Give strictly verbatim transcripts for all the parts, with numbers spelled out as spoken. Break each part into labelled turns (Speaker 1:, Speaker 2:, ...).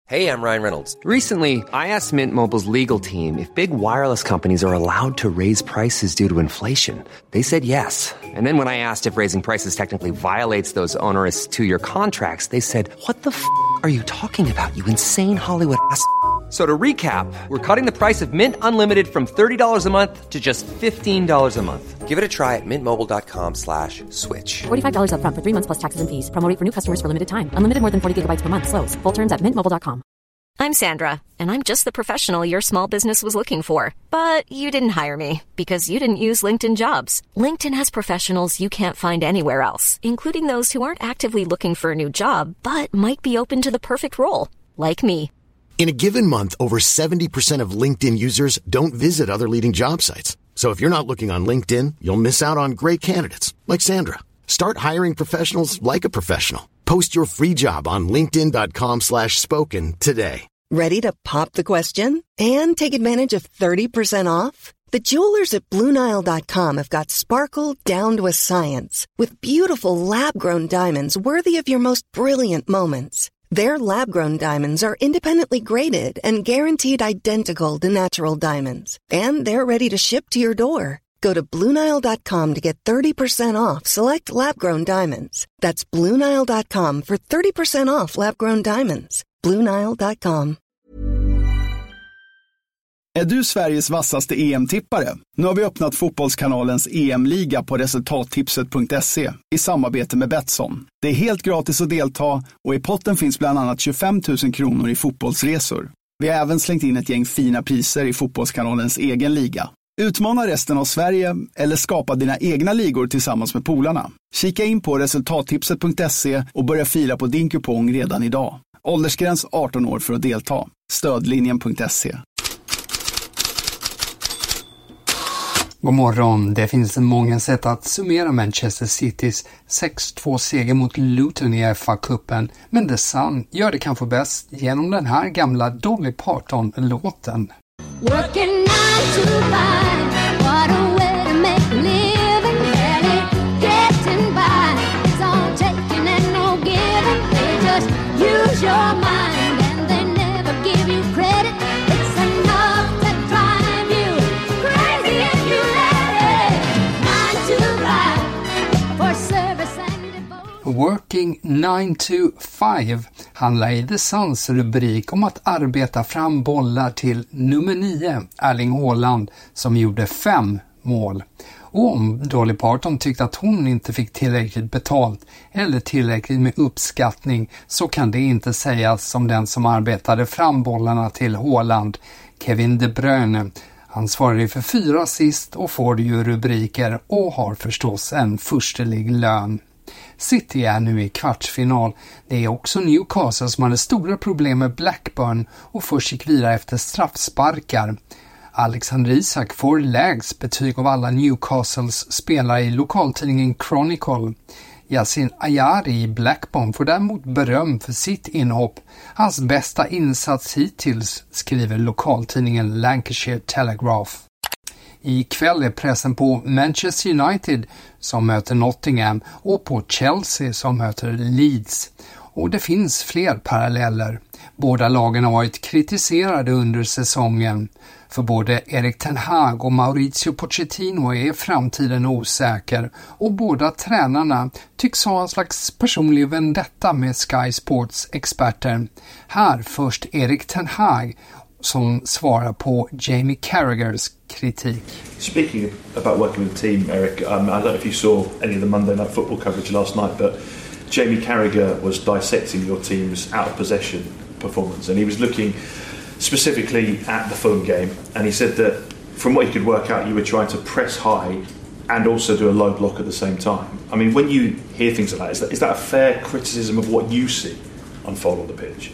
Speaker 1: Hey, I'm Ryan Reynolds.
Speaker 2: Recently, I asked Mint Mobile's legal team if big wireless companies are allowed to raise prices due to inflation. They said yes. And then when I asked if raising prices technically violates those onerous two-year contracts, they said, what the f*** are you talking about, you insane Hollywood ass f- So to recap, we're cutting the price of Mint Unlimited from thirty dollars a month to just fifteen dollars a month.
Speaker 1: Give it a try at mintmobile.com slash switch.
Speaker 3: forty-five dollars up front for three months plus taxes and fees. Promo rate for new customers for limited time. Unlimited more than forty gigabytes per month. Slows full terms at mint mobile dot com.
Speaker 4: I'm Sandra, and I'm just the professional your small business was looking for. But you didn't hire me because you didn't use LinkedIn Jobs. LinkedIn has professionals you can't find anywhere else, including those who aren't actively looking for a new job, but might be open to the perfect role, like me.
Speaker 5: In a given month, over seventy percent of LinkedIn users don't visit other leading job sites. So if you're not looking on LinkedIn, you'll miss out on great candidates like Sandra. Start hiring professionals like a professional. Post your free job on linkedin dot com slash spoken today.
Speaker 6: Ready to pop the question and take advantage of thirty percent off? The jewelers at Blue Nile dot com have got sparkle down to a science with beautiful lab-grown diamonds worthy of your most brilliant moments. Their lab-grown diamonds are independently graded and guaranteed identical to natural diamonds. And they're ready to ship to your door. Go to Blue Nile dot com to get thirty percent off select lab-grown diamonds. That's Blue Nile dot com for thirty percent off lab-grown diamonds. Blue Nile dot com.
Speaker 7: Är du Sveriges vassaste E M-tippare? Nu har vi öppnat Fotbollskanalens E M-liga på resultattipset punkt se i samarbete med Betsson. Det är helt gratis att delta och i potten finns bland annat tjugofem tusen kronor i fotbollsresor. Vi har även slängt in ett gäng fina priser i Fotbollskanalens egen liga. Utmana resten av Sverige eller skapa dina egna ligor tillsammans med polarna. Kika in på resultattipset punkt se och börja fila på din kupong redan idag. Åldersgräns arton år för att delta. Stödlinjen punkt se.
Speaker 8: God morgon. Det finns många sätt att summera Manchester Citys sex två seger mot Luton i F A-cupen, men The Sun gör det kanske bäst genom den här gamla Dolly Parton-låten.
Speaker 9: Working nine to five, what a way to make a living, barely getting by. It's all taking and no giving. They just use your mind and they never give you credit. It's enough to drive you crazy if you let it. Nine to five for service and devotion.
Speaker 8: Working nine to five handlar i The Suns rubrik om att arbeta fram bollar till nummer nio, Erling Haaland, som gjorde fem mål. Och om Dolly Parton tyckte att hon inte fick tillräckligt betalt eller tillräckligt med uppskattning, så kan det inte sägas som den som arbetade fram bollarna till Haaland, Kevin De Bruyne. Han svarade för fyra assist och får ju rubriker och har förstås en förstelig lön. City är nu i kvartsfinal. Det är också Newcastle som hade stora problem med Blackburn och först gick vidare efter straffsparkar. Alexander Isak får lägst betyg av alla Newcastles spelare i lokaltidningen Chronicle. Yasin Ayari i Blackburn får däremot beröm för sitt inhopp. Hans bästa insats hittills, skriver lokaltidningen Lancashire Telegraph. I kväll är pressen på Manchester United som möter Nottingham och på Chelsea som möter Leeds. Och det finns fler paralleller. Båda lagen har varit kritiserade under säsongen. För både Erik Ten Hag och Mauricio Pochettino är framtiden osäker och båda tränarna tycks ha en slags personlig vendetta med Sky Sports experter. Här först Erik Ten Hag som svarar på Jamie Carragers kritik.
Speaker 10: Speaking about working with the team, Eric, um, I don't know if you saw any of the Monday Night Football coverage last night, but Jamie Carragher was dissecting your team's out of possession performance, and he was looking specifically at the Fulham game, and he said that from what he could work out, you were trying to press high and also do a low block at the same time. I mean, when you hear things like that, is that, is that a fair criticism of what you see unfold on the pitch?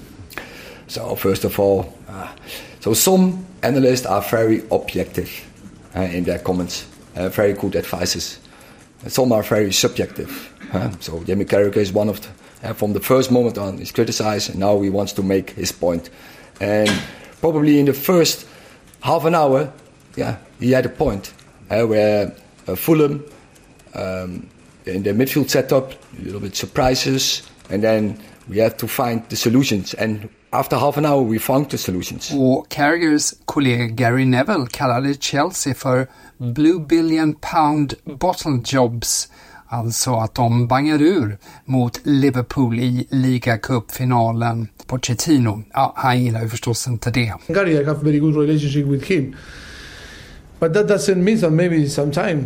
Speaker 11: So first of all, uh, so some analysts are very objective uh, in their comments, uh, very good advices. Some are very subjective. Uh, so Jamie Carragher is one of the, uh, from the first moment on, he's criticized, and now he wants to make his point. And probably in the first half an hour, yeah, he had a point uh, where uh, Fulham um, in the midfield setup, a little bit surprises, and then we have to find the solutions. And After half an hour we found the solutions.
Speaker 8: Och Carragers kollega Gary Neville kallade Chelsea för Blue Billion Pound Bottle Jobs. Alltså att de bangar ur mot Liverpool i ligacupfinalen. Pochettino, ja, han gillar ju förstås inte det.
Speaker 12: Gary, I have a very good relationship with him. But that doesn't mean that maybe sometimes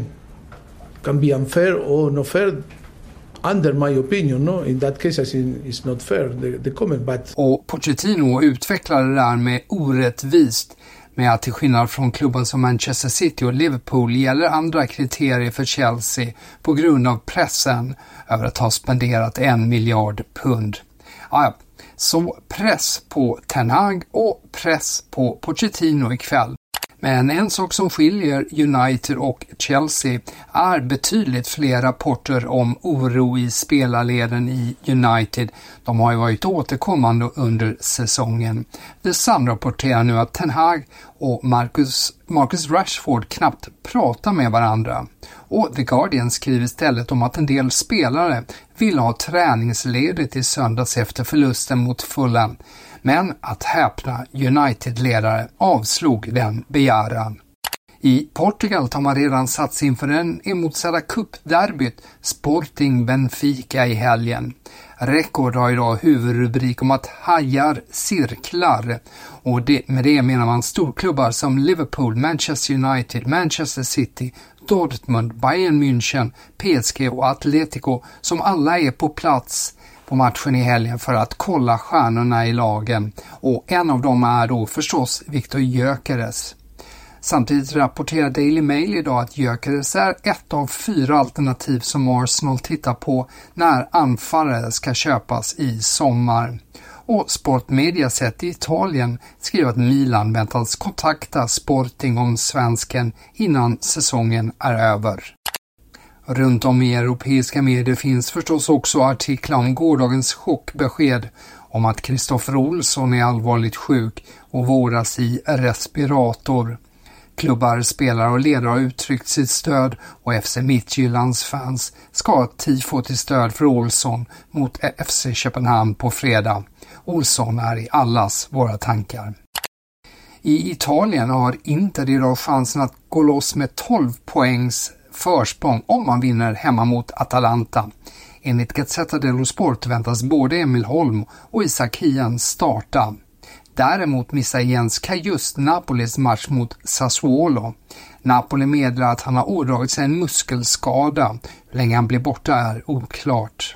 Speaker 12: can be unfair or not fair. Under my opinion, no? In that case I think it's not fair, the, the comment. But...
Speaker 8: Och Pochettino utvecklade det där med orättvist. Med att till skillnad från klubben som Manchester City och Liverpool gäller andra kriterier för Chelsea på grund av pressen över att ha spenderat en miljard pund. Ja, så press på Ten Hag och press på Pochettino ikväll. Men en sak som skiljer United och Chelsea är betydligt fler rapporter om oro i spelarleden i United. De har ju varit återkommande under säsongen. The Sun rapporterar nu att Ten Hag och Marcus, Marcus Rashford knappt pratar med varandra. Och The Guardian skriver istället om att en del spelare vill ha träningsledigt i söndags efter förlusten mot Fulham. Men att häpna United-ledare avslog den begäran. I Portugal tar man redan satt sig inför den emotsedda cupderbyt Sporting Benfica i helgen. Rekord har idag huvudrubrik om att hajar cirklar. Och det, med det menar man storklubbar som Liverpool, Manchester United, Manchester City, Dortmund, Bayern München, P S G och Atletico som alla är på plats på matchen i helgen för att kolla stjärnorna i lagen. Och en av dem är då förstås Viktor Gyökeres. Samtidigt rapporterar Daily Mail idag att Gyökeres är ett av fyra alternativ som Arsenal tittar på när anfallare ska köpas i sommar. Och Sportmediaset i Italien skriver att Milan väntas kontakta Sporting om svensken innan säsongen är över. Runt om i europeiska medier finns förstås också artiklar om gårdagens chockbesked om att Kristoffer Olsson är allvarligt sjuk och vårdas i respirator. Klubbar, spelare och ledare har uttryckt sitt stöd och F C Midtjyllands fans ska ha tifo till stöd för Olsson mot F C Köpenhamn på fredag. Olsson är i allas våra tankar. I Italien har Inter idag chansen att gå loss med tolv poängs försprång om man vinner hemma mot Atalanta. Enligt Gazzetta dello Sport väntas både Emil Holm och Isak Hien starta. Däremot missar Jens Kajust Napolis match mot Sassuolo. Napoli meddelar att han har ådragit sig en muskelskada. Hur länge han blir borta är oklart.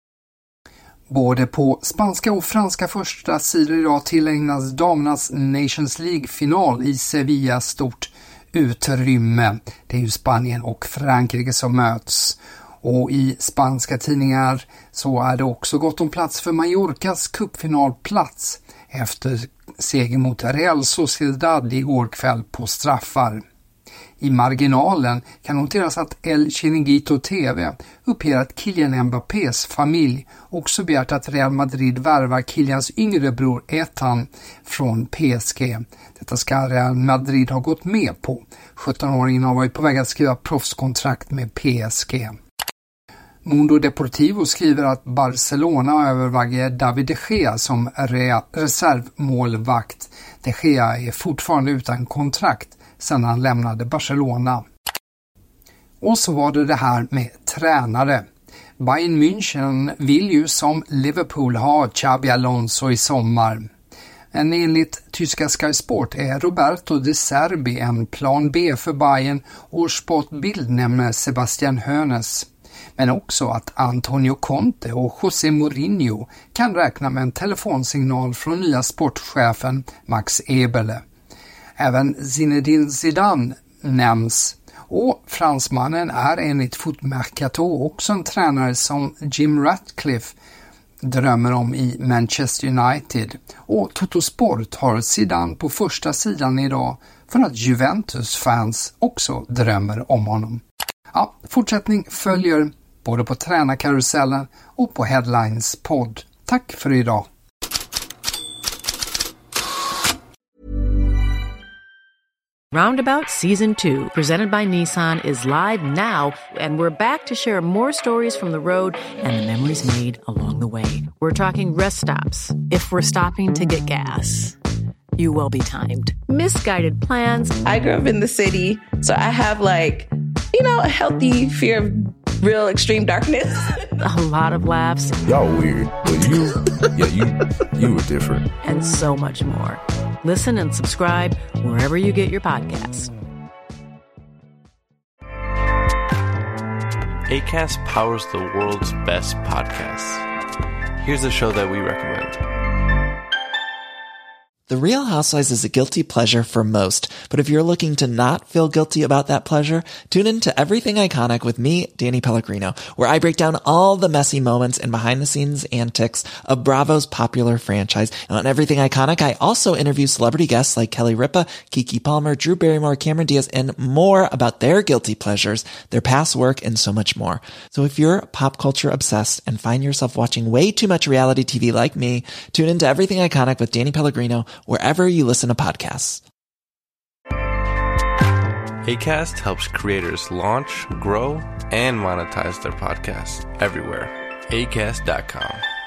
Speaker 8: Både på spanska och franska första sidor idag tillägnas damernas Nations League-final i Sevilla stort utrymme. Det är ju Spanien och Frankrike som möts. Och i spanska tidningar så är det också gott om plats för Mallorcas cupfinalplats efter seger mot Real Sociedad igår kväll på straffar. I marginalen kan noteras att El Chiringuito T V uppger att Kylian Mbappés familj också begärt att Real Madrid värvar Kylians yngre bror Ethan från P S G. Detta ska Real Madrid ha gått med på. sjuttonåringen har varit på väg att skriva proffskontrakt med P S G. Mundo Deportivo skriver att Barcelona överväger David de Gea som re- reservmålvakt. De Gea är fortfarande utan kontrakt sedan han lämnade Barcelona. Och så var det det här med tränare. Bayern München vill ju som Liverpool ha Xabi Alonso i sommar. Men enligt tyska Sky Sport är Roberto De Zerbi en plan B för Bayern och Sportbild nämner Sebastian Hoeneß. Men också att Antonio Conte och José Mourinho kan räkna med en telefonsignal från nya sportchefen Max Eberle. Även Zinedine Zidane nämns och fransmannen är enligt Footmercato också en tränare som Jim Ratcliffe drömmer om i Manchester United. Och Toto Sport har Zidane på första sidan idag för att Juventus-fans också drömmer om honom. Ja, fortsättning följer både på tränarkarusellen och på Headlines podd. Tack för idag!
Speaker 13: Roundabout Season two, presented by Nissan, is live now, and we're back to share more stories from the road and the memories made along the way. We're talking rest stops, if we're stopping to get gas. You will be timed. Misguided plans.
Speaker 14: I grew up in the city, so I have like, you know, a healthy fear of real extreme darkness.
Speaker 13: A lot of laughs.
Speaker 15: Y'all weird, but you, yeah, you, you were different.
Speaker 13: And so much more. Listen and subscribe wherever you get your podcasts.
Speaker 16: Acast powers the world's best podcasts. Here's a show that we recommend.
Speaker 17: The Real Housewives is a guilty pleasure for most, but if you're looking to not feel guilty about that pleasure, tune in to Everything Iconic with me, Danny Pellegrino, where I break down all the messy moments and behind-the-scenes antics of Bravo's popular franchise. And on Everything Iconic, I also interview celebrity guests like Kelly Ripa, Keke Palmer, Drew Barrymore, Cameron Diaz, and more about their guilty pleasures, their past work, and so much more. So if you're pop culture obsessed and find yourself watching way too much reality T V like me, tune into Everything Iconic with Danny Pellegrino, wherever you listen to podcasts.
Speaker 16: Acast helps creators launch, grow, and monetize their podcasts everywhere. Acast dot com.